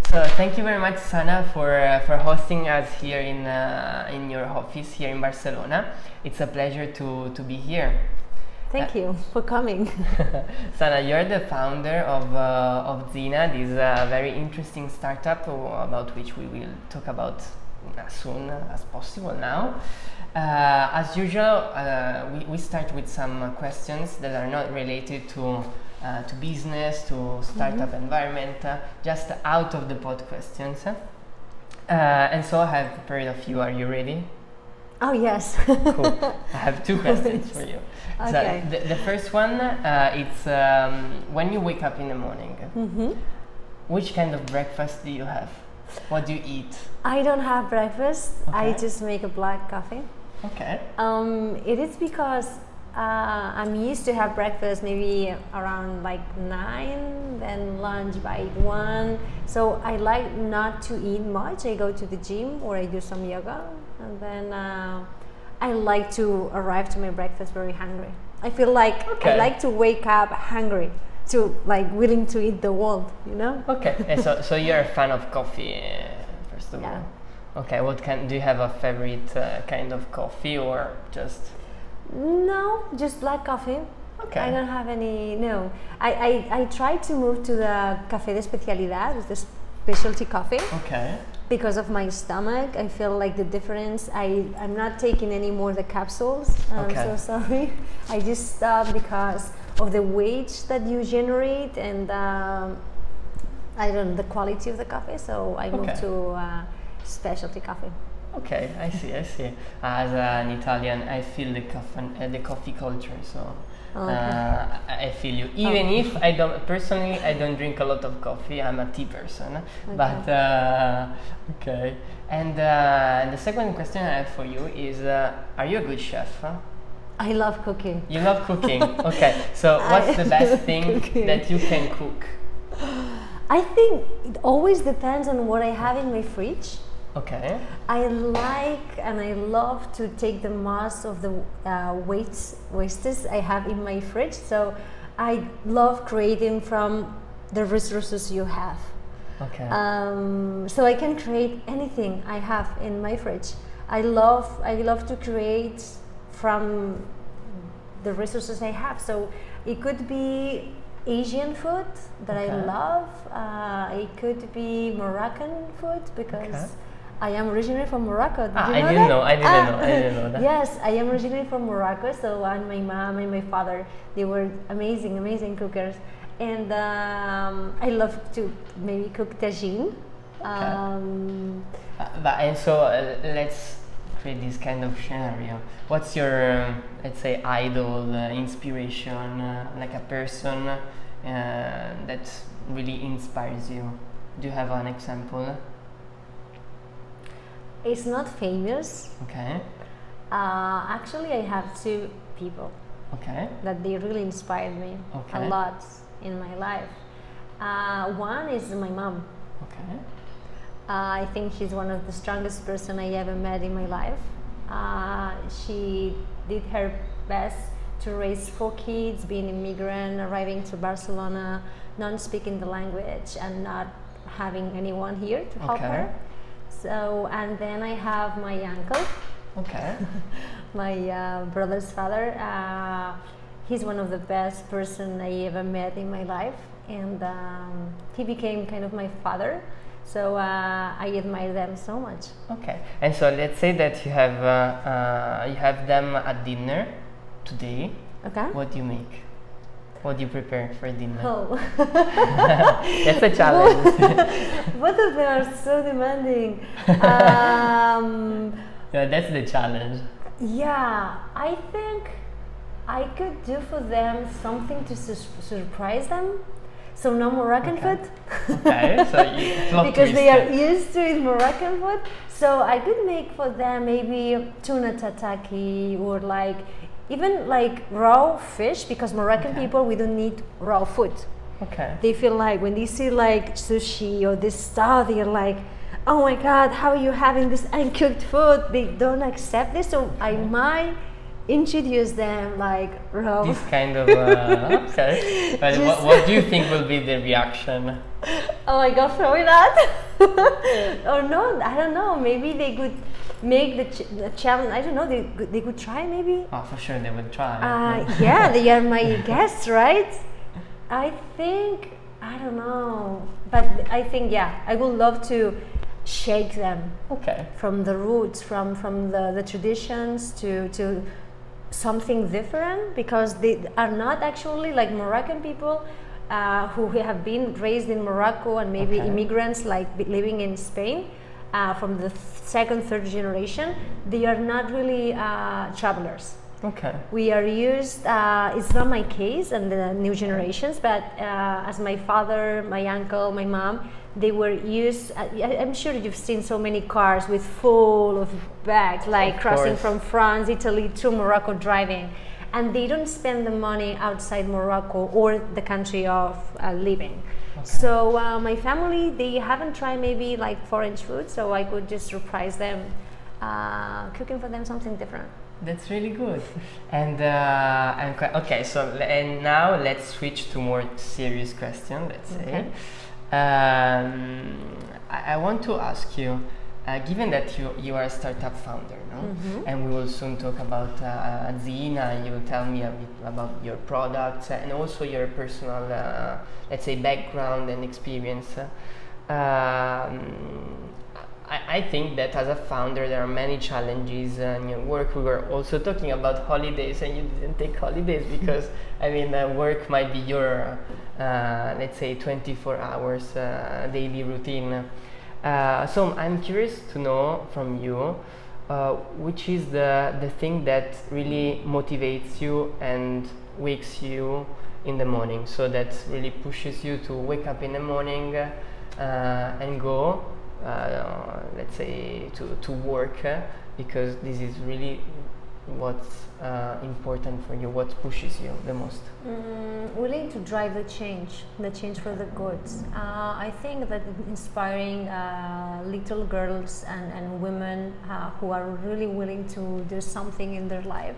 So thank you very much, Sana, for hosting us here in your office here in Barcelona. It's a pleasure to be here. Thank you for coming. Sana, you're the founder of Zina, this very interesting startup about which we will talk about as soon as possible now. As usual, we start with some questions that are not related to business, to startup environment, just out of the pod questions. And so I have prepared a few. Are you ready? Oh, yes. Cool. I have two questions for you. Okay. So the first one, it's when you wake up in the morning, which kind of breakfast do you have? What do you eat? I don't have breakfast. I Okay. just make a black coffee. Okay. It is because I'm used to have breakfast maybe around like 9, then lunch by 1. So I like not to eat much. I go to the gym or I do some yoga, and then I like to arrive to my breakfast very hungry. I feel like Okay. I like to wake up hungry, to like willing to eat the world, you know? Okay. And so you're a fan of coffee, first of Yeah. all. Okay. What do you have a favorite kind of coffee or just? No, just black coffee. Okay. I don't have any. No, I tried to move to the café de especialidad, it's the specialty coffee, Okay. because of my stomach. I feel like the difference. I'm not taking any more the capsules. I'm Okay. so sorry. I just stopped because of the wage that you generate and I don't know the quality of the coffee. So I moved Okay. to specialty coffee. Okay, I see. As an Italian, I feel the coffee culture, so Okay. I feel you. Even if I don't drink a lot of coffee. I'm a tea person. But okay. And the second question I have for you is: are you a good chef? I love cooking. You love cooking. Okay. So what's the best thing Cooking. that you can cook? I think it always depends on what I have in my fridge. Okay. I like and I love to take the most of the wastes I have in my fridge. So I love creating from the resources you have. Okay. So I can create anything I have in my fridge. I love to create from the resources I have. So it could be Asian food that I Okay. love. It could be Moroccan food because Okay. I am originally from Morocco. Did you I know didn't that? know. I didn't know that. Yes, I am originally from Morocco. So and my mom and my father, they were amazing cookers, and I love to maybe cook tagine. And so let's create this kind of scenario. What's your, let's say, idol, inspiration, like a person that really inspires you? Do you have an example? It's not famous. Okay. Actually, I have 2 people Okay. that they really inspired me Okay. a lot in my life. One is my mom. Okay. I think she's one of the strongest person I ever met in my life. She did her best to raise 4 kids, being immigrant, arriving to Barcelona, not speaking the language and not having anyone here to help Okay. her. So, and then I have my uncle, Okay. my brother's father. He's one of the best person I ever met in my life, and he became kind of my father. So I admire them so much. Okay. And so let's say that you have them at dinner today. Okay. What do you make? What do you prepare for dinner? Oh, That's a challenge. both of them are so demanding. Yeah, that's the challenge. Yeah, I think I could do for them something to surprise them. So no Moroccan Okay. food. Okay, so you plot Because they twist. are used to eat Moroccan food. So I could make for them maybe tuna tataki or like even like raw fish, because Moroccan Okay. people, we don't need raw food. Okay. They feel like when they see like sushi or this stuff, they're like, oh my God, how are you having this uncooked food? They don't accept this. So I might introduce them like raw. This kind of okay. But what do you think will be the reaction? Oh my god, probably not. Or no, I don't know. Maybe they could make the challenge. I don't know. They could try maybe. Oh, for sure they will try. Yeah, they are my guests, right? I think I don't know, but I think yeah, I would love to shake them. Okay. From the roots, from the traditions to something different, because they are not actually like Moroccan people who have been raised in Morocco and maybe immigrants like living in Spain from the second, third generation. They are not really travelers. Okay. We are used, it's not my case and the new generations, but as my father, my uncle, my mom, they were used, I'm sure you've seen so many cars with full of bags, like crossing from France, Italy to Morocco driving. And they don't spend the money outside Morocco or the country of living. Okay. So my family, they haven't tried maybe like foreign food, so I could just surprise them, cooking for them something different. That's really good. And okay, so and now let's switch to more serious question. Let's say, I want to ask you, given that you are a startup founder, no? Mm-hmm. And we will soon talk about Zina. You will tell me a bit about your products and also your personal, let's say, background and experience. I think that as a founder there are many challenges in your work. We were also talking about holidays and you didn't take holidays because I mean work might be your let's say 24 hours daily routine. So I'm curious to know from you which is the thing that really motivates you and wakes you in the morning, so that really pushes you to wake up in the morning and go let's say to work, because this is really what's important for you, what pushes you the most. Willing to drive the change for the good. I think that inspiring little girls and women who are really willing to do something in their life,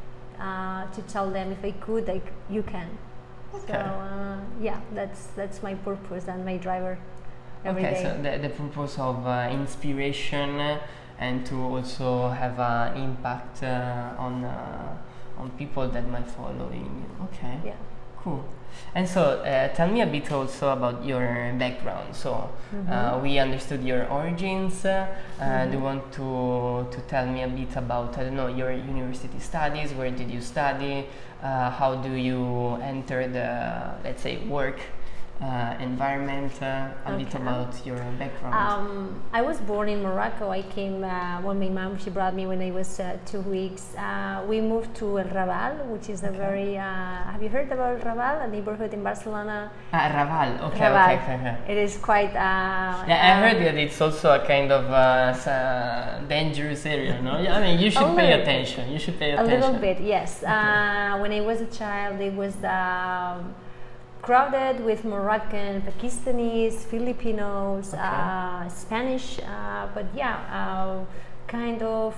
to tell them if I could, like you can. Okay. So yeah, that's my purpose and my driver. Every day. So the purpose of inspiration and to also have an impact on people that might follow in. Okay. Yeah. Cool. And so tell me a bit also about your background. So we understood your origins. Do you want to tell me a bit about, I don't know, your university studies? Where did you study? How do you enter the, let's say, work environment, a bit about your background. I was born in Morocco. I came when my mom, she brought me when I was 2 weeks. We moved to El Raval, which is a very, have you heard about El Raval, a neighborhood in Barcelona? Raval, okay, Raval. Okay. It is quite... yeah, I heard that it's also a kind of dangerous area, no? I mean, you should pay attention. You should pay attention. A little bit, yes. When I was a child, it was crowded with Moroccan, Pakistanis, Filipinos, Spanish, but yeah, kind of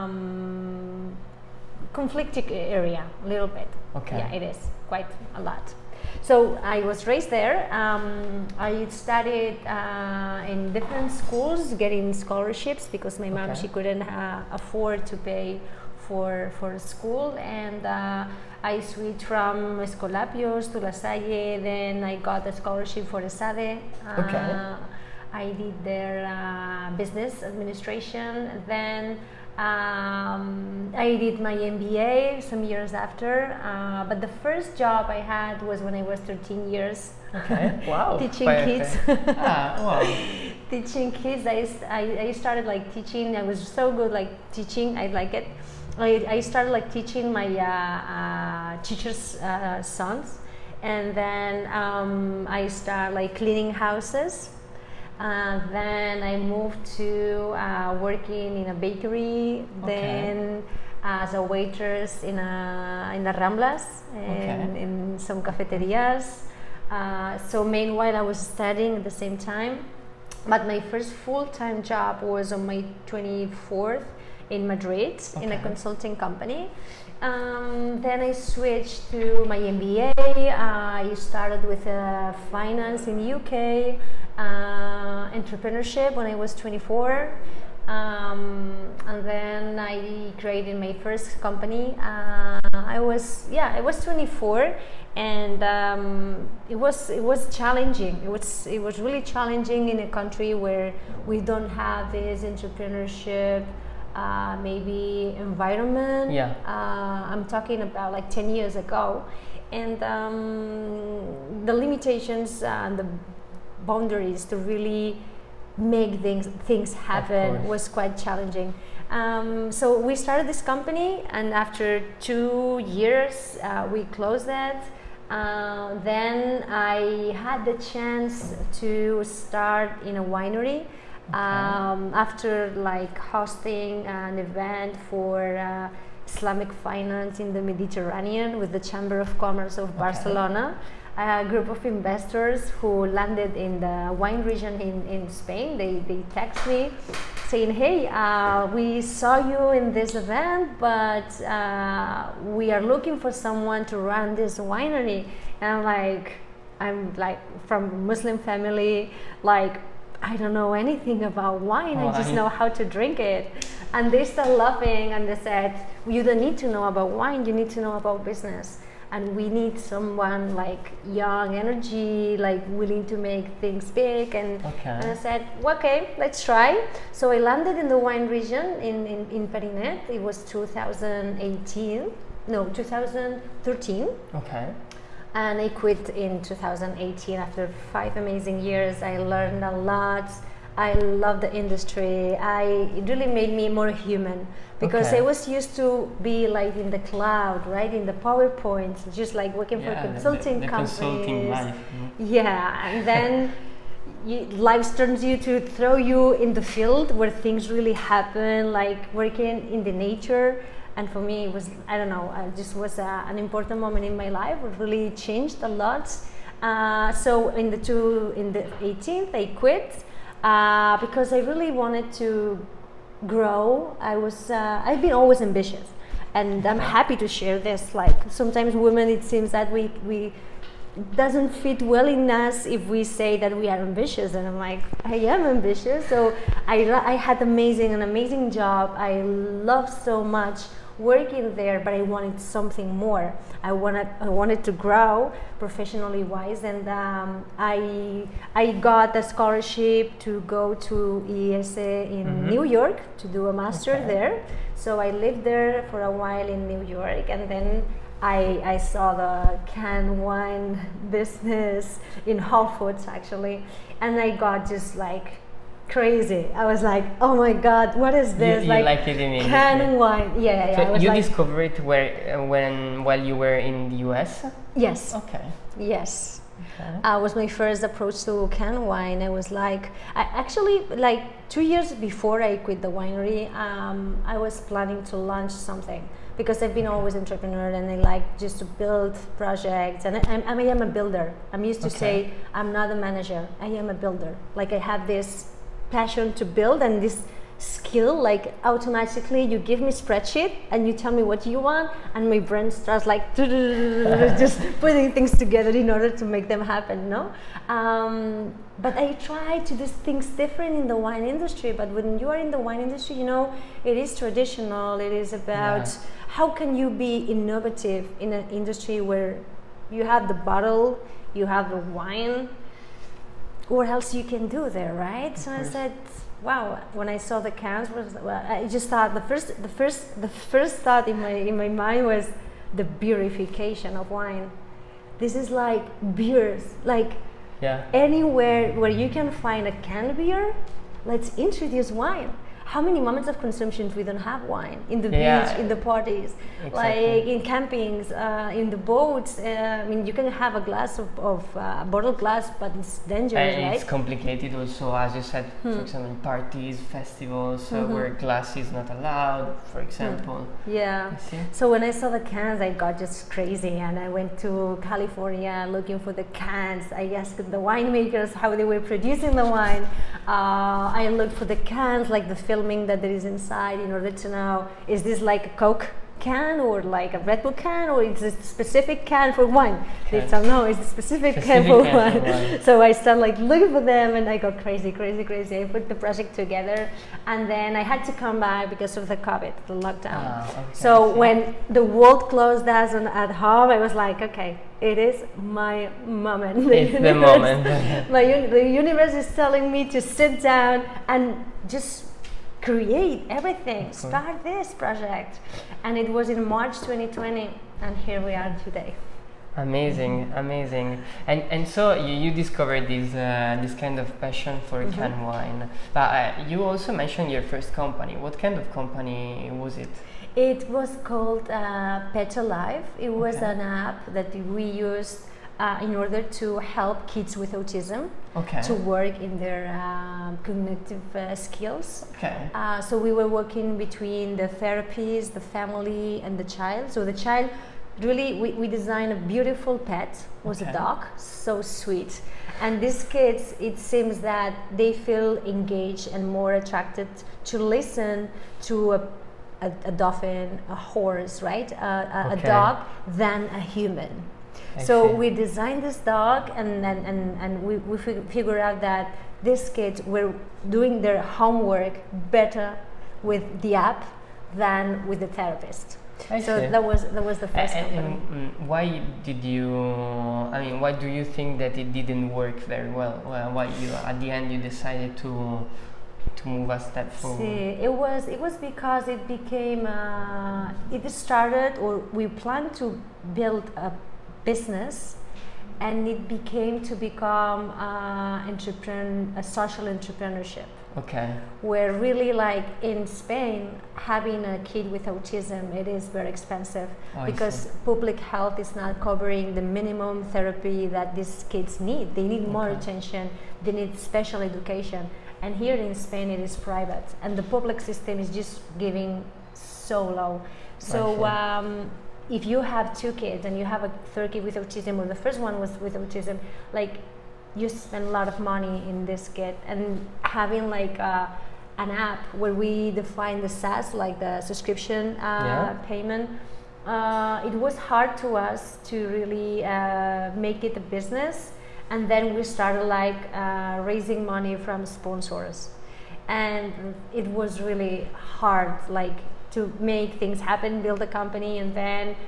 conflicted area, a little bit. Okay. Yeah, it is quite a lot. So I was raised there. I studied in different schools, getting scholarships because my mom, she couldn't afford to pay for school, and I switched from Escolapios to La Salle. Then I got a scholarship for ESADE. I did their business administration. Then I did my MBA some years after. But the first job I had was when I was 13 years. Okay. Wow. Teaching kids. Wow. Teaching kids. I started like teaching. I was so good like teaching. I like it. I started like teaching my teachers' sons, and then I started like cleaning houses. Then I moved to working in a bakery. Then as a waitress in the Ramblas and in some cafeterias. So meanwhile I was studying at the same time. But my first full-time job was on my 24th in Madrid in a consulting company, Then I switched to my MBA. I started with finance in UK, entrepreneurship when I was 24. And then I created my first company. I was 24, and it was challenging. It was really challenging in a country where we don't have this entrepreneurship maybe environment. Yeah. I'm talking about like 10 years ago, and the limitations and the boundaries to really make things happen was quite challenging. So we started this company, and after 2 years we closed it. Then I had the chance to start in a winery. After like hosting an event for Islamic finance in the Mediterranean with the Chamber of Commerce of Barcelona, a group of investors who landed in the wine region in Spain, they text me saying, hey, we saw you in this event, but we are looking for someone to run this winery. And I'm like from a Muslim family, like I don't know anything about wine. I just know how to drink it. And they started laughing, and they said, you don't need to know about wine, you need to know about business. And we need someone like young energy, like willing to make things big. And I said, okay, let's try. So I landed in the wine region in Perinet. It was 2013. Okay. And I quit in 2018 after 5 amazing years. I learned a lot. I love the industry. It really made me more human, because I was used to be like in the cloud, right, in the PowerPoints, just like working for consulting companies. Consulting life. Yeah, and then life turns you to throw you in the field where things really happen, like working in the nature. And for me, it was, I don't know, it just was an important moment in my life. It really changed a lot. So in the 18th, I quit. Because I really wanted to grow. I've been always ambitious, and I'm happy to share this. Like sometimes women, it seems that we doesn't fit well in us if we say that we are ambitious, and I'm like, I am ambitious. So I had an amazing job. I loved so much working there, but I wanted something more. I wanted to grow professionally wise, and I got a scholarship to go to IES in New York to do a master there. So I lived there for a while in New York, and then I saw the canned wine business in Whole Foods actually, and I got just like crazy. I was like, oh my god, what is this? You like it in canned wine. Yeah. So you discovered it while you were in the US? Yes. Okay. Yes. Okay. Was my first approach to canned wine. I was like, actually, like 2 years before I quit the winery, I was planning to launch something, because I've been always an entrepreneur, and I like just to build projects, and I am a builder. I'm used to say I'm not a manager, I am a builder. Like I have this passion to build, and this skill, like automatically you give me spreadsheet and you tell me what you want, and my brain starts like just putting things together in order to make them happen, no? But I try to do things different in the wine industry. But when you are in the wine industry, you know, it is traditional. It is about how can you be innovative in an industry where you have the bottle, you have the wine. What else you can do there, right? So I said, wow. When I saw the cans, I just thought the first thought in my mind was the beerification of wine. This is like beers, like anywhere where you can find a canned beer, let's introduce wine. How many moments of consumption we don't have wine in the beach, in the parties, like in campings, in the boats. I mean, you can have a glass of bottled glass, but it's dangerous, right? It's complicated also, as you said, for example, in parties, festivals, where glass is not allowed, for example. Yeah. So when I saw the cans, I got just crazy, and I went to California looking for the cans. I asked the winemakers how they were producing the wine. I looked for the cans, like the filming that there is inside, in order to know, is this like a Coke can or like a Red Bull can, or it's a specific can for wine? Okay. They said no, it's a specific can for wine. So I started like looking for them, and I got crazy. I put the project together, and then I had to come back because of the COVID, the lockdown. Okay, so when the world closed us at home, I was like, okay, it is my moment. It's the moment. The universe is telling me to sit down and just create everything, start this project. And it was in March 2020, and here we are today. Amazing. And so you discovered this kind of passion for canned wine. But you also mentioned your first company. What kind of company was it? It was called Pet Alive. It was an app that we used in order to help kids with autism to work in their cognitive skills. So we were working between the therapists, the family, and the child. So the child, really, we designed a beautiful pet, was a dog, so sweet. And these kids, it seems that they feel engaged and more attracted to listen to a dolphin, a horse, right? A dog than a human. So we designed this dog, and we figured out that these kids were doing their homework better with the app than with the therapist. So that was the first company. And why did you? I mean, why do you think that it didn't work very well? Why you at the end you decided to move a step forward? See, it was because it became it started, or we planned to build a business, and it became to become a social entrepreneurship. Where really, like in Spain, having a kid with autism, it is very expensive because public health is not covering the minimum therapy that these kids need. They need more attention, they need special education. And here in Spain, it is private, and the public system is just giving so low. So if you have 2 kids and you have a third kid with autism, or the first one was with autism, like you spend a lot of money in this kid. And having like an app where we define the SaaS, like the subscription payment, it was hard to us to really make it a business. And then we started like raising money from sponsors, and it was really hard, like to make things happen, build a company. And then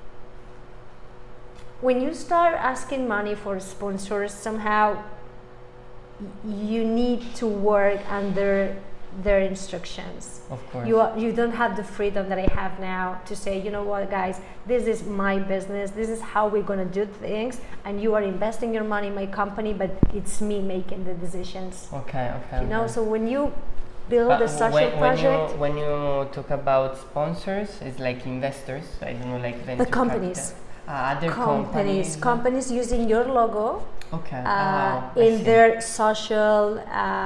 when you start asking money for sponsors, somehow you need to work under their instructions. Of course. You don't have the freedom that I have now to say, you know what, guys, this is my business, this is how we're going to do things, and you are investing your money in my company, but it's me making the decisions. You know, so when you build a social project, when you talk about sponsors, it's like investors, I don't know, like venture the companies. Other companies using your logo in their social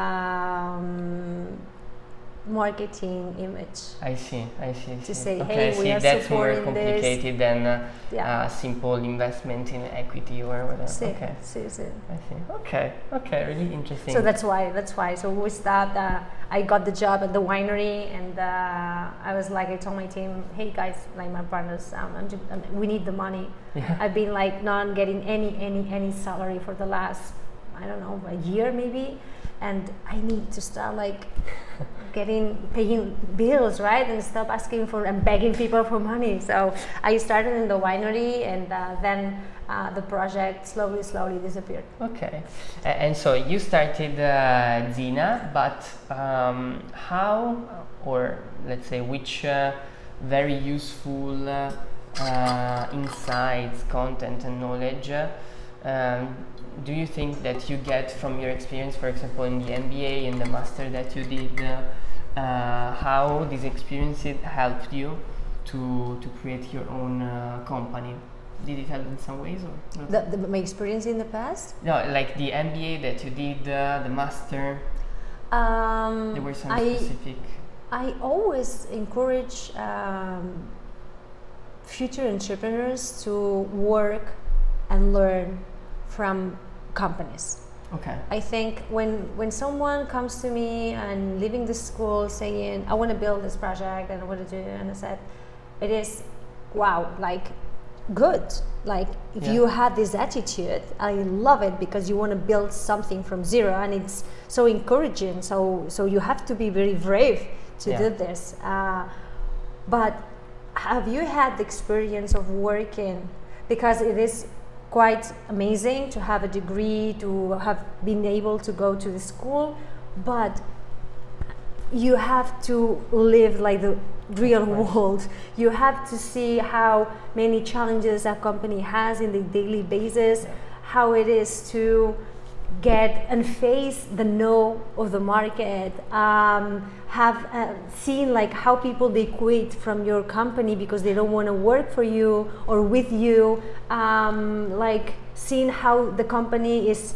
marketing image. I see. To say, hey, we are that's supporting more complicated this. than simple investment in equity or whatever. I see. Okay, really interesting. So that's why. So we stopped. I got the job at the winery, and I was like, I told my team, hey guys, like my partners, we need the money. I've been like not getting any salary for the last, I don't know, a year maybe, and I need to start like paying bills, right, and stop asking for and begging people for money. So I started in the winery, and then the project slowly disappeared. And so you started Zina, but how, or let's say which very useful insights, content and knowledge do you think that you get from your experience, for example, in the MBA and the master that you did? How these experiences helped you to create your own company? Did it help in some ways, or my experience in the past? No, like the MBA that you did, the master. There were some specific. I always encourage future entrepreneurs to work and learn from companies. I think when someone comes to me and leaving the school saying, I want to build this project and I want to do it, and I said, it is, wow, like good. Like if Yeah. you have this attitude, I love it, because you want to build something from zero, and it's so encouraging. So you have to be very brave to Yeah. do this. But have you had the experience of working, because it is quite amazing to have a degree, to have been able to go to the school, but you have to live like the real world. You have to see how many challenges a company has in the daily basis, how it is to get and face the no of the market, have seen like how people they quit from your company because they don't want to work for you or with you, like seeing how the company is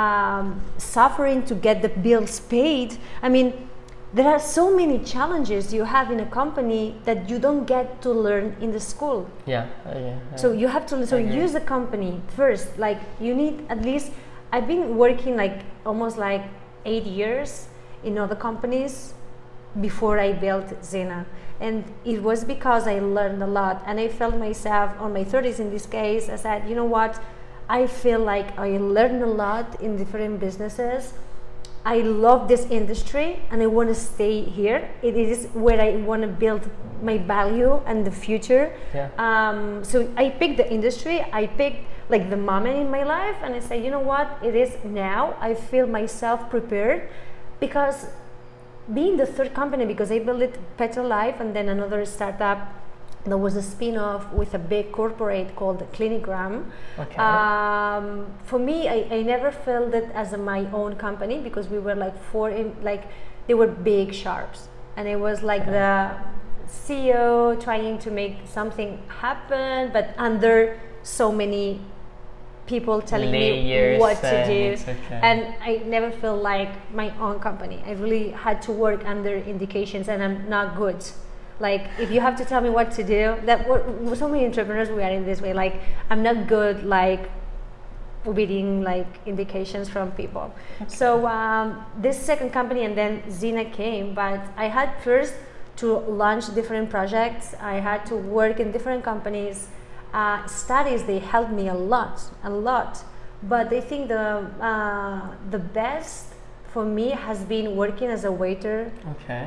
suffering to get the bills paid. I mean, there are so many challenges you have in a company that you don't get to learn in the school. Yeah. So you have to use the company first. Like you need at least. I've been working like almost like 8 years in other companies before I built Zena, and it was because I learned a lot, and I felt myself on my 30s in this case. I said, you know what? I feel like I learned a lot in different businesses. I love this industry and I want to stay here. It is where I want to build my value and the future. Yeah. So I picked the industry, I picked like the moment in my life, and I say, you know what, it is now. I feel myself prepared, because being the third company, because I built it Petrolife and then another startup that was a spin-off with a big corporate called Clinigram. Okay. For me, I never felt it as my own company, because we were like they were big sharps, and it was like the CEO trying to make something happen, but under so many people telling Layers me what to do, okay. and I never felt like my own company. I really had to work under indications, and I'm not good. Like if you have to tell me what to do, so many entrepreneurs we are in this way. Like I'm not good like reading like indications from people. Okay. So this second company and then Zena came, but I had first to launch different projects. I had to work in different companies. Studies, they helped me a lot. But I think the best for me has been working as a waiter. Okay.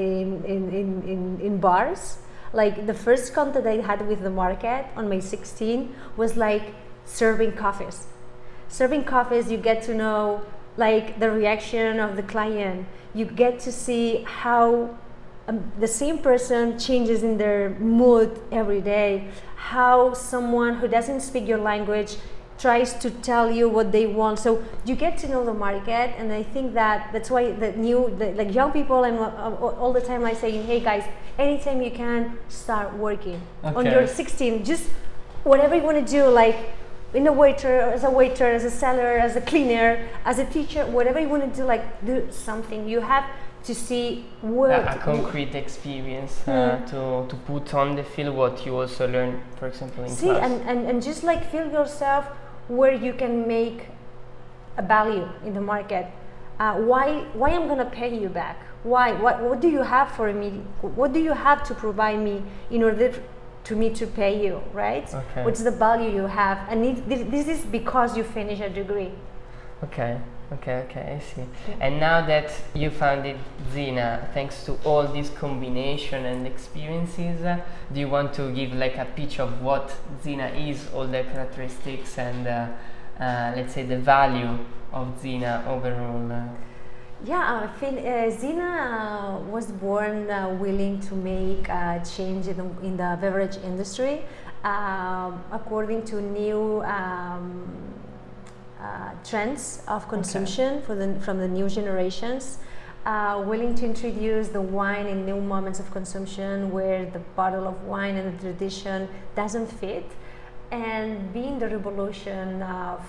in bars. Like the first contact I had with the market on my 16 was like serving coffees. Serving coffees, you get to know like the reaction of the client. You get to see how the same person changes in their mood every day. How someone who doesn't speak your language tries to tell you what they want. So you get to know the market, and I think that's why like young people, I'm all the time like saying, hey guys, anytime you can, start working. Okay. On your 16, just whatever you want to do, like in a waiter, as a seller, as a cleaner, as a teacher, whatever you want to do, like do something. You have to see a concrete experience to put on the field what you also learn, for example, in class. and just like feel yourself where you can make a value in the market. Why I'm gonna pay you back? Why? What do you have for me? What do you have to provide me in order to me to pay you, right? Okay. What's the value you have? And this is because you finish a degree. Okay, I see. And now that you founded Zena, thanks to all this combination and experiences, do you want to give like a pitch of what Zena is, all the characteristics and let's say the value of Zena overall? Yeah, I think Zena was born willing to make a change in the beverage industry according to new trends of consumption from the new generations, willing to introduce the wine in new moments of consumption where the bottle of wine and the tradition doesn't fit, and being the revolution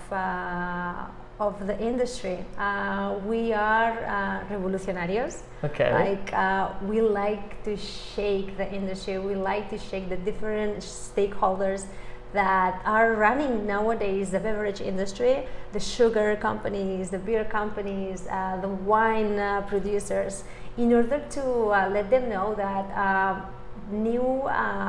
of the industry. We are revolutionarios. Okay. Like we like to shake the industry. We like to shake the different stakeholders that are running nowadays the beverage industry, the sugar companies, the beer companies, the wine producers, in order to let them know that new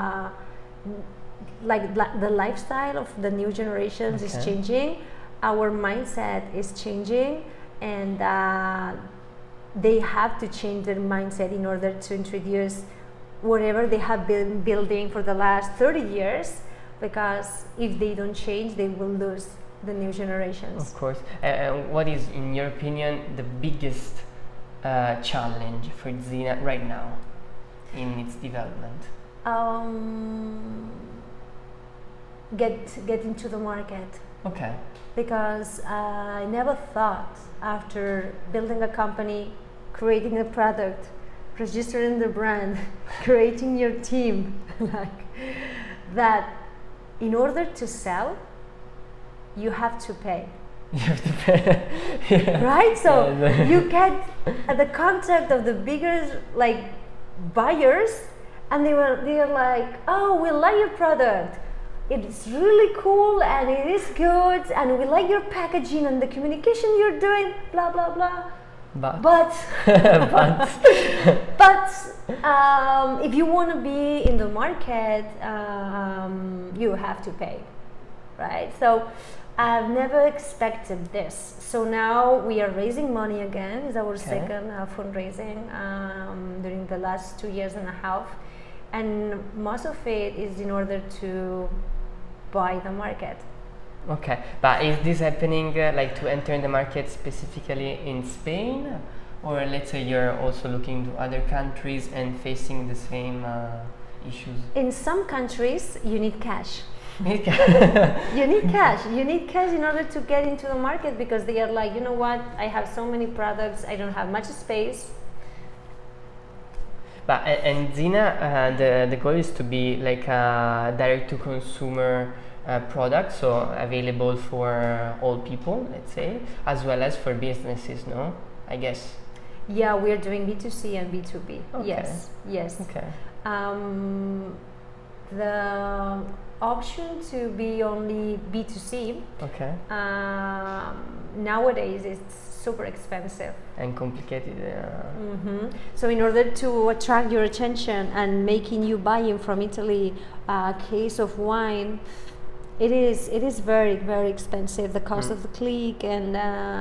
the lifestyle of the new generations is changing, our mindset is changing, and they have to change their mindset in order to introduce whatever they have been building for the last 30 years, because if they don't change, they will lose the new generations. Of course. What is, in your opinion, the biggest challenge for Zina right now in its development? Get into the market. Okay. Because I never thought, after building a company, creating a product, registering the brand, creating your team, that in order to sell, you have to pay. You have to pay. Yeah. Right? So you get the contact of the bigger buyers, and they are like, oh, we like your product. It's really cool and it is good, and we like your packaging and the communication you're doing, blah blah blah. But if you want to be in the market, you have to pay, right? So I've never expected this. So now we are raising money again. It's our second fundraising during the last 2 years and a half, and most of it is in order to buy the market. Okay, but is this happening to enter in the market specifically in Spain, or let's say you're also looking to other countries and facing the same issues? In some countries, you need cash. You need cash. You need cash in order to get into the market, because they are like, you know what? I have so many products. I don't have much space. But and Zina, the goal is to be like a direct-to-consumer product, so available for all people, let's say, as well as for businesses, no? I guess. Yeah, we are doing B2C and B2B. Okay. Yes. Okay. The option to be only B2C, nowadays it's super expensive and complicated. So in order to attract your attention and making you buying from Italy a case of wine, it is very, very expensive. The cost of the click and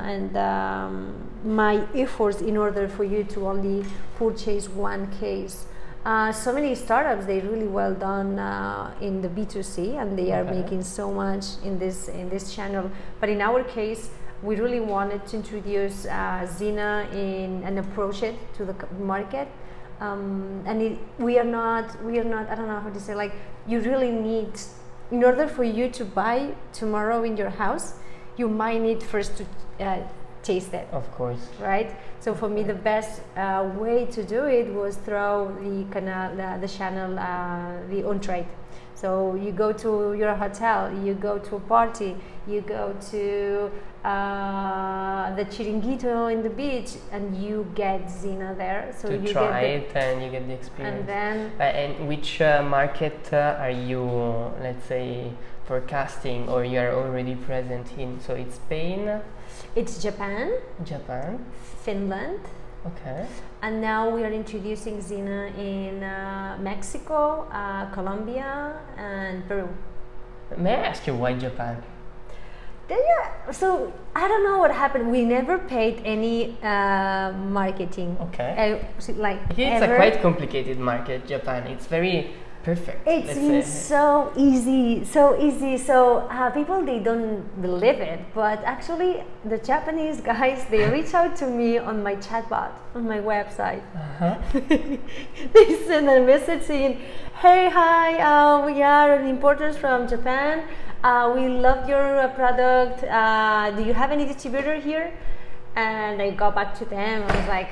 my efforts in order for you to only purchase one case. So many startups, they really well done in the B2C, and they are making so much in this channel. But in our case, we really wanted to introduce Zina and approach it to the market. We are not. I don't know how to say. You really need, in order for you to buy tomorrow in your house, you might need first to taste it. Of course. Right. So for me, the best way to do it was through the channel, the on-trade. So you go to your hotel, you go to a party, you go to the Chiringuito in the beach, and you get Zina there. So you try it and you get the experience. And then. And which market are you, let's say, forecasting, or you are already present in? So it's Spain. It's Japan. Finland. Okay. And now we are introducing Zina in Mexico, Colombia, and Peru. May I ask you why Japan? Yeah, so I don't know what happened. We never paid any marketing. Okay. It's a quite complicated market, Japan. It's very perfect. It's so easy. So people, they don't believe it, but actually the Japanese guys, they reach out to me on my chatbot on my website. They send a message saying, "Hey, hi, we are importers from Japan. We love your product. Do you have any distributor here?" And I go back to them. I was like,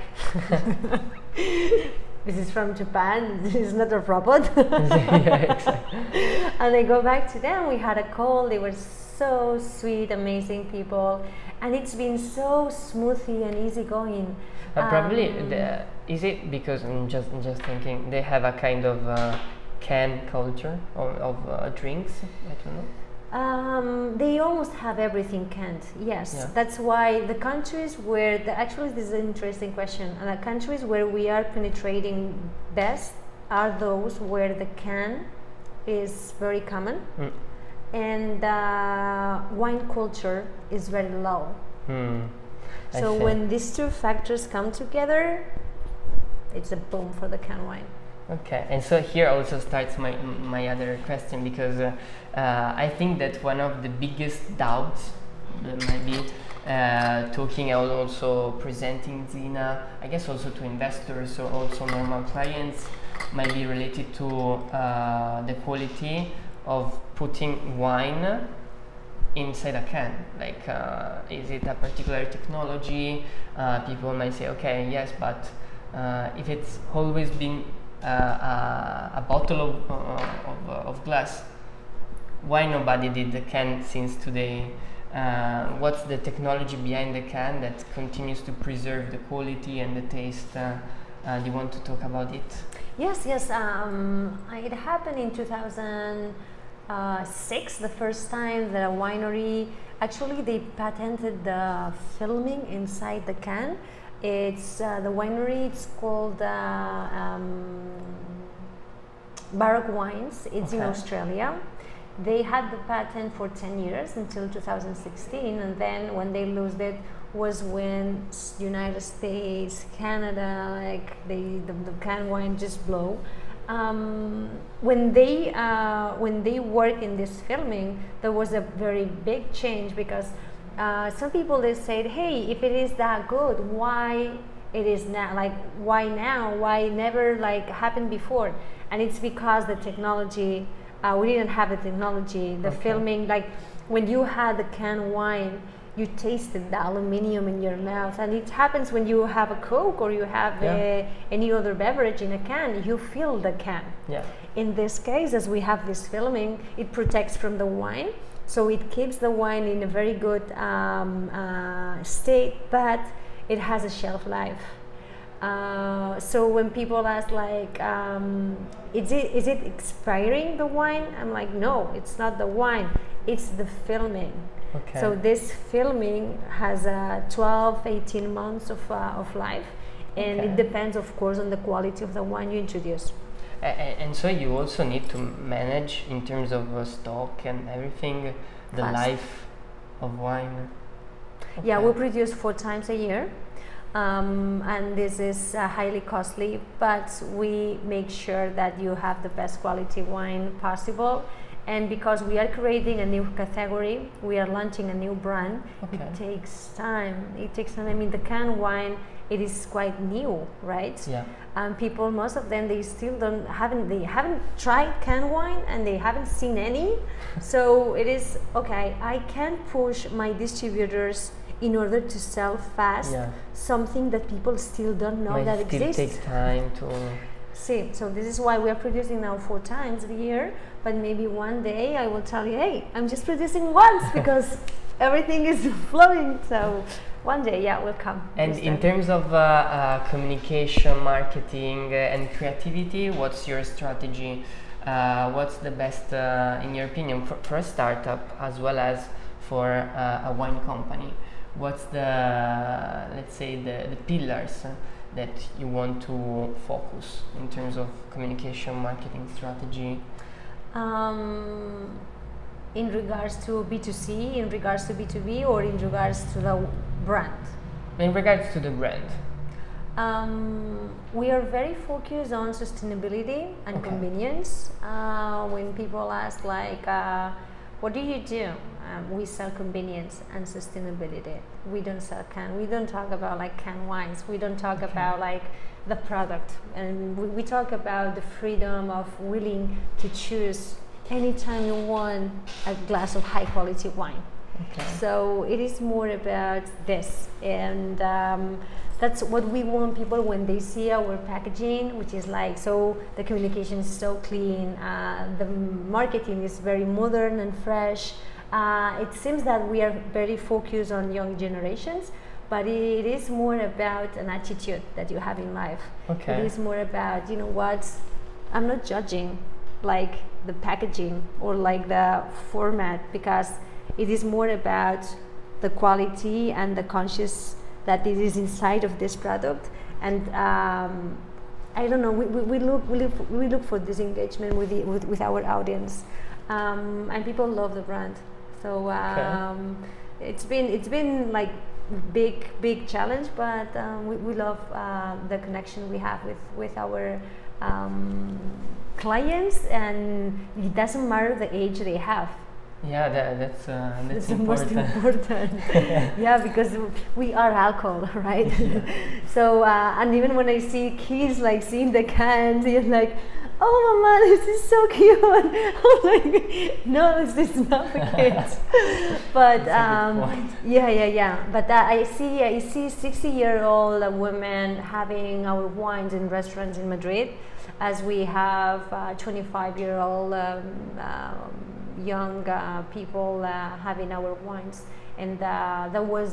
"This is from Japan. This is not a robot." Yeah, exactly. And I go back to them. We had a call. They were so sweet, amazing people, and it's been so smoothly and easygoing. Probably, is it because I'm just thinking they have a kind of can culture of drinks? I don't know. They almost have everything canned. Yes, Yeah. That's why the countries where actually this is an interesting question. The countries where we are penetrating best are those where the can is very common and wine culture is very low. So when these two factors come together, it's a boom for the can wine. Okay, and so here also starts my other question, because I think that one of the biggest doubts that might be talking and also presenting Zina, I guess also to investors or also normal clients, might be related to the quality of putting wine inside a can. Like, is it a particular technology? People might say, okay, yes, but if it's always been a bottle of glass, why nobody did the can since today? What's the technology behind the can that continues to preserve the quality and the taste? Do you want to talk about it? Yes. It happened in 2006, the first time that a winery, actually they patented the filming inside the can. It's the winery, it's called Baroque Wines. It's in Australia. They had the patent for 10 years until 2016, and then when they lost it was when United States, Canada, like the can wine just blow. When they work in this filming, there was a very big change, because some people, they said, hey, if it is that good, why it is now? Like, why now? Why never like happened before? And it's because the technology, we didn't have the technology, the filming, like when you had the can wine, you tasted the aluminum in your mouth, and it happens when you have a Coke or you have any other beverage in a can, you feel the can. In this case, as we have this filming, it protects from the wine, so it keeps the wine in a very good state, but it has a shelf life. So when people ask like, is it expiring, the wine? I'm like, no, it's not the wine, it's the filming. So this filming has 12-18 months of life, and it depends, of course, on the quality of the wine you introduce. And so you also need to manage, in terms of stock and everything, the life of wine. Yeah, we produce 4 times a year. And this is highly costly, but we make sure that you have the best quality wine possible. And because we are creating a new category, we are launching a new brand, it takes time. I mean, the can wine, it is quite new, right? And people, most of them, they still haven't tried can wine, and they haven't seen any. So it is, I can push my distributors in order to sell fast something that people still don't know that exists. It still takes time to see. So this is why we are producing now 4 times a year, but maybe one day I will tell you, hey, I'm just producing once because everything is flowing. So one day, will come. And in terms of communication, marketing, and creativity, what's your strategy? What's the best, in your opinion, for a startup as well as for a wine company? What's the, let's say, the pillars that you want to focus in terms of communication, marketing strategy? In regards to B2C, in regards to B2B, or in regards to the brand? In regards to the brand. We are very focused on sustainability and convenience. When people ask like, what do you do? We sell convenience and sustainability. We don't sell can. We don't talk about like canned wines. We don't talk about like the product. And we talk about the freedom of willing to choose anytime you want a glass of high quality wine. So it is more about this. And that's what we want people when they see our packaging, which is like, so the communication is so clean. The marketing is very modern and fresh. It seems that we are very focused on young generations, but it is more about an attitude that you have in life. It is more about, you know what, I'm not judging like the packaging or like the format, because it is more about the quality and the conscious that it is inside of this product. And I don't know. We look for this engagement with our audience, and people love the brand. So it's been like big challenge, but we love the connection we have with our clients, and it doesn't matter the age they have. Yeah, that's the most important. Yeah, because we are alcohol, right? Yeah. So and even when I see kids like seeing the cans, they're like, "Oh, mama, this is so cute." I'm like, "No, this is not for kids." But yeah. But I see 60-year-old women having our wines in restaurants in Madrid, as we have 25-year-old. Young people having our wines, and that was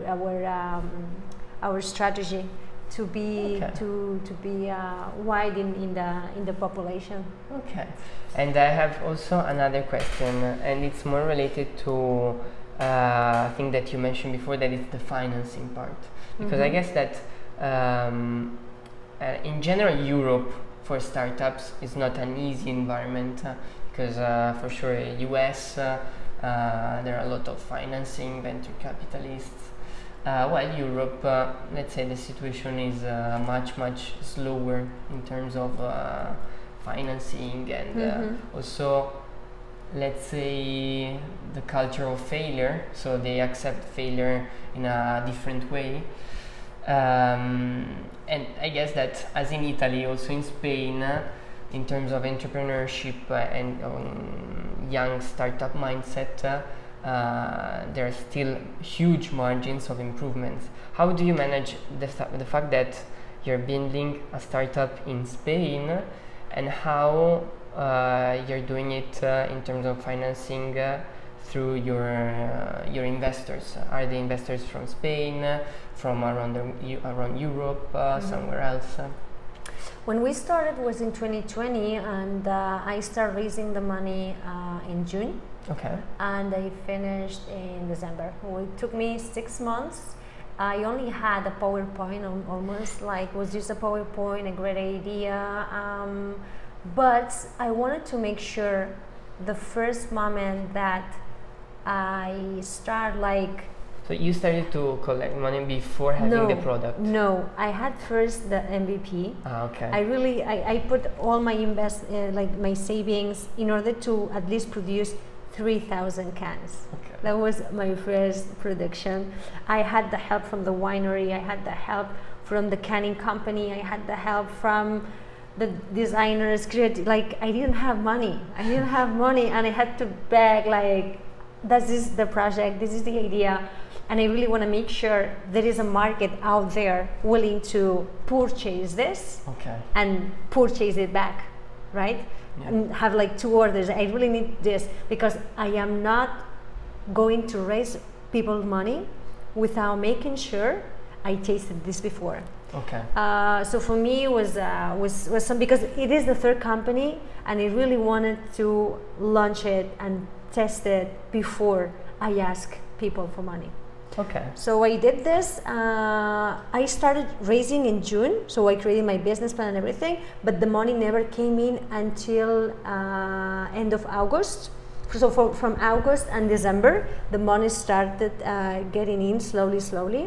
our strategy to be wide in the population. Okay, and I have also another question, and it's more related to I think that you mentioned before, that it's the financing part, because I guess that in general Europe for startups is not an easy environment. Because for sure US there are a lot of financing, venture capitalists, while Europe, let's say the situation is much slower in terms of financing, and also let's say the culture of failure, so they accept failure in a different way. And I guess that as in Italy, also in Spain, in terms of entrepreneurship and young startup mindset, there are still huge margins of improvements. How do you manage the fact that you're building a startup in Spain, and how you're doing it in terms of financing through your investors? Are the investors from Spain, from around Europe, somewhere else? When we started was in 2020, and I started raising the money in June. Okay. And I finished in December. Well, it took me 6 months. I only had a PowerPoint, almost like it was just a PowerPoint, a great idea. But I wanted to make sure the first moment that I start like. So you started to collect money before having the product? No, I had first the MVP. Okay. I put all my my savings in order to at least produce 3,000 cans. Okay. That was my first production. I had the help from the winery. I had the help from the canning company. I had the help from the designers. Like I didn't have money. And I had to beg. Like, this is the project. This is the idea. And I really want to make sure there is a market out there willing to purchase this and purchase it back, right? Yeah. And have like 2 orders. I really need this because I am not going to raise people money without making sure I tasted this before. Okay. So for me it was some, because it is the third company, and I really wanted to launch it and test it before I ask people for money. Okay. So I did this. I started raising in June, so I created my business plan and everything, but the money never came in until end of August. So from August and December, the money started getting in slowly.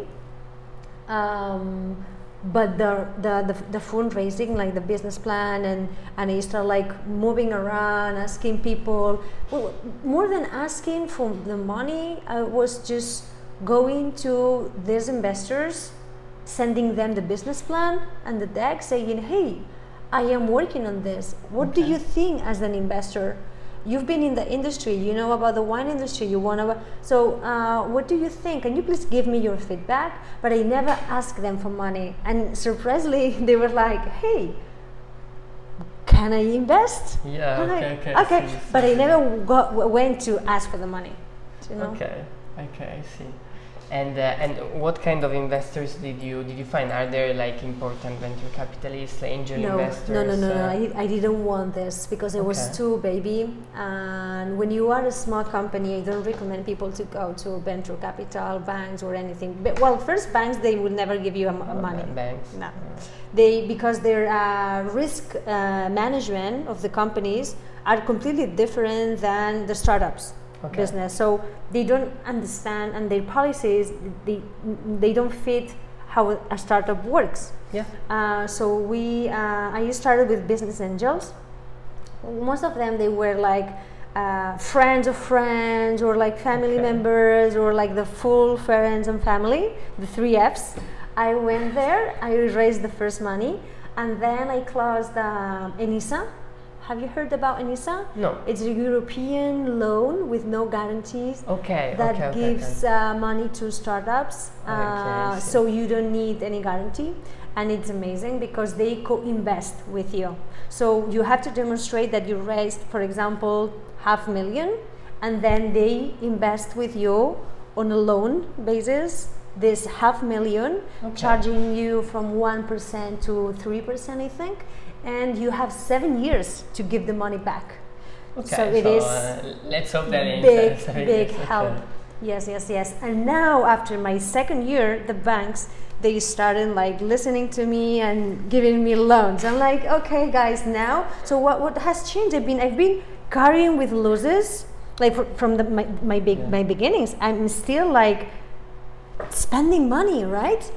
But the fundraising, like the business plan, and I started like moving around, asking people. Well, more than asking for the money, I was just going to these investors, sending them the business plan and the deck, saying, "Hey, I am working on this. What do you think as an investor? You've been in the industry, you know about the wine industry, you want to, so what do you think? Can you please give me your feedback?" But I never asked them for money. And surprisingly, they were like, "Hey, can I invest?" Yeah, okay. But I never went to ask for the money. You know? Okay, I see. And what kind of investors did you find? Are there like important venture capitalists, angel investors? No. I didn't want this because I was too baby. And when you are a small company, I don't recommend people to go to venture capital, banks, or anything. But, well, first, banks, they will never give you money. Banks? No. Because their risk management of the companies are completely different than the startups. Business, so they don't understand, and their policies they don't fit how a startup works. So I started with business angels. Most of them, they were like friends of friends, or like family members, or like the full friends and family, the 3 Fs. I went there, I raised the first money, and then I closed Enisa. Have you heard about Enisa? No. It's a European loan with no guarantees that gives money to startups. So you don't need any guarantee, and it's amazing because they co-invest with you. So you have to demonstrate that you raised, for example, 500,000, and then they invest with you on a loan basis. This 500,000, charging you from 1% to 3%, I think. And you have 7 years to give the money back. So it is let's hope that big help. Yes. And now, after my second year, the banks, they started like listening to me and giving me loans. I'm like, okay, guys, now. So what has changed? I've been carrying with losses, like from my beginnings. I'm still like spending money, right?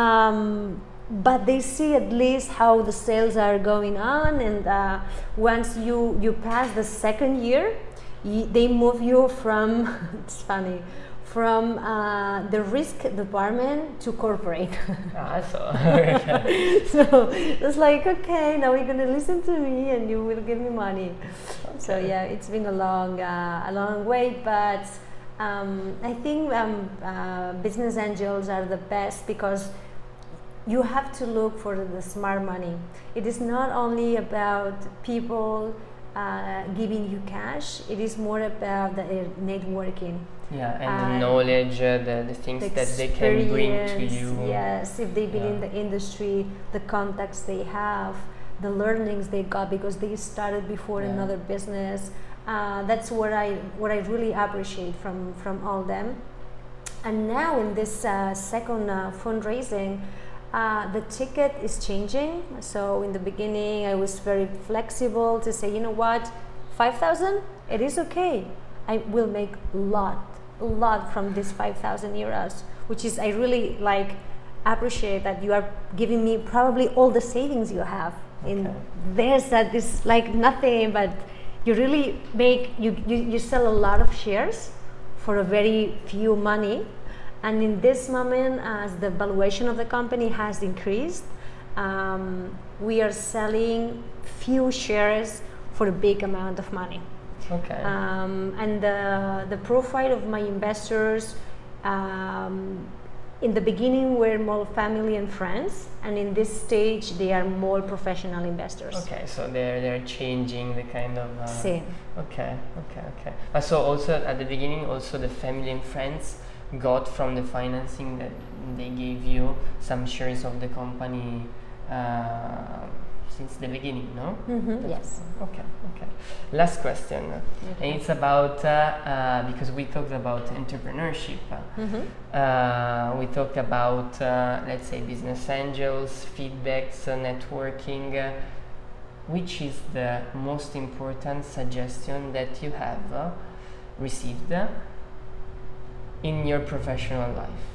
But they see at least how the sales are going on, and once you pass the second year, they move you from it's funny, from the risk department to corporate. So it's like, okay, now you're gonna listen to me and you will give me money. So yeah, it's been a long wait, but I think business angels are the best because you have to look for the smart money. It is not only about people giving you cash, it is more about the networking. And the knowledge, the things that they can bring to you. Yes, if they've been in the industry, the contacts they have, the learnings they got because they started before another business. That's what I really appreciate from all them. And now in this second fundraising, the ticket is changing. So in the beginning, I was very flexible to say, you know what, 5,000, it is okay. I will make a lot from this 5,000 euros, which is, I really like appreciate that you are giving me probably all the savings you have. In there's that is like nothing, but you really make you sell a lot of shares for a very few money. And in this moment, as the valuation of the company has increased, we are selling few shares for a big amount of money. And the profile of my investors in the beginning were more family and friends, and in this stage they are more professional investors. So they're changing the kind of same. So also at the beginning, also the family and friends got from the financing that they gave you some shares of the company since the beginning, no? Yes. Okay. Last question, and it's about because we talked about entrepreneurship. We talked about let's say business angels, feedbacks, networking. Which is the most important suggestion that you have received in your professional life?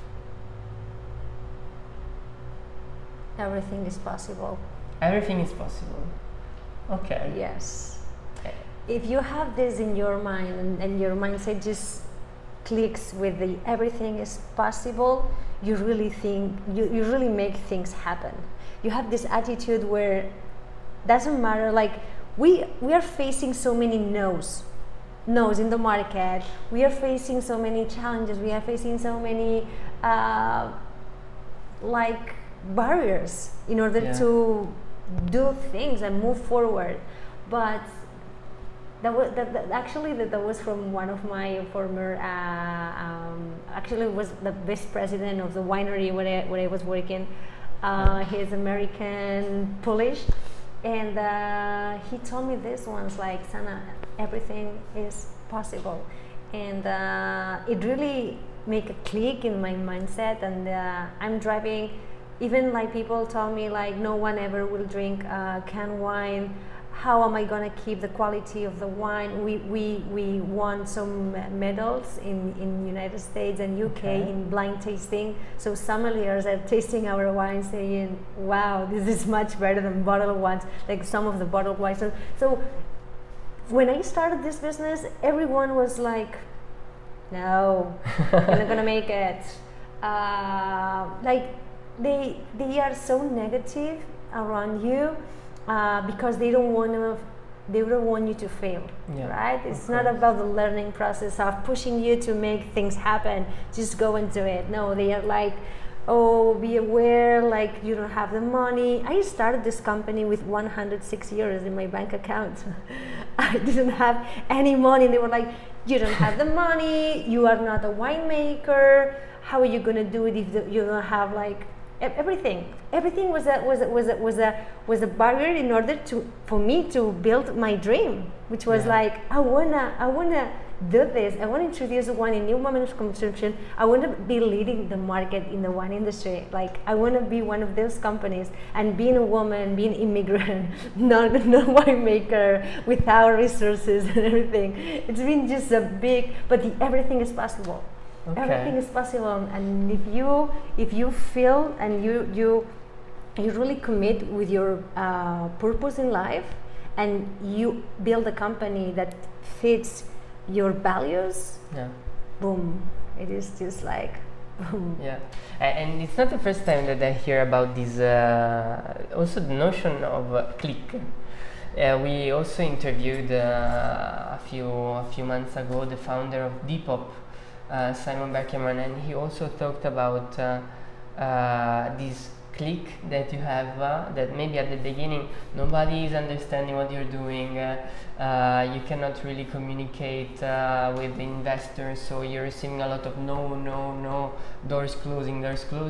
Everything is possible. Everything is possible. Okay. Yes. If you have this in your mind and your mindset just clicks with the everything is possible, you really think you really make things happen. You have this attitude where doesn't matter, like we are facing so many no's in the market. We are facing so many challenges. We are facing so many like barriers in order to do things and move forward. But that was from one of my former. Actually, was the vice president of the winery where I was working. He's American Polish, and he told me this once, like, Sana, everything is possible, and it really make a click in my mindset. And I'm driving, even like people told me like no one ever will drink canned wine. How am I gonna keep the quality of the wine? We won some medals in United States and UK in blind tasting. So sommeliers are tasting our wine, saying, "Wow, this is much better than bottled ones." Like some of the bottled wines. So when I started this business, everyone was like, "No, you're not gonna make it." Like they are so negative around you. Because they don't want you to fail, right? It's not about the learning process of pushing you to make things happen. Just go and do it. No, they are like, oh, be aware, like you don't have the money. I started this company with 106 euros in my bank account. I didn't have any money. They were like, you don't have the money. You are not a winemaker. How are you gonna do it if you don't have like everything was a barrier in order for me to build my dream, which was like I wanna do this. I want to introduce wine in new moments of consumption. I want to be leading the market in the wine industry. Like I want to be one of those companies. And being a woman, being immigrant, not winemaker, without resources and everything, it's been just a big. But everything is possible. Everything is possible, and if you feel and you really commit with your purpose in life, and you build a company that fits your values, boom, it is just like boom. And it's not the first time that I hear about this. Also, the notion of click. We also interviewed a few months ago the founder of Depop. Simon Beckerman, and he also talked about this click that you have, that maybe at the beginning nobody is understanding what you're doing, you cannot really communicate with investors, so you're receiving a lot of no, doors closing,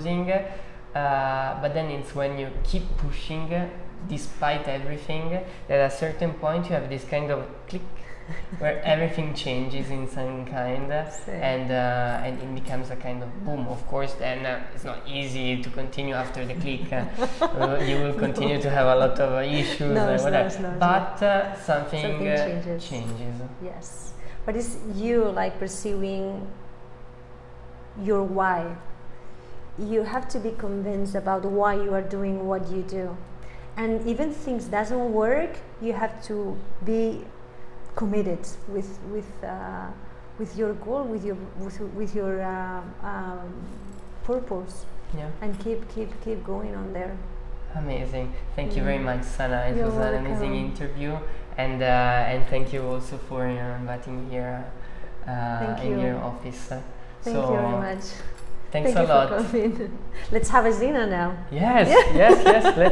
but then it's when you keep pushing despite everything that at a certain point you have this kind of click where everything changes in some kind, and it becomes a kind of boom. Of course, then it's not easy to continue after the click. You will continue to have a lot of issues, but something changes. Yes, but it's you like pursuing your why. You have to be convinced about why you are doing what you do, and even things doesn't work, you have to be committed with your goal, with your purpose, and keep going on there. Amazing. Thank you very much, Sana. It was an amazing interview, and thank you also for inviting me here in your office. Thank you very much. Thanks a lot. For coming. Let's have a Zina now. Yes. Let's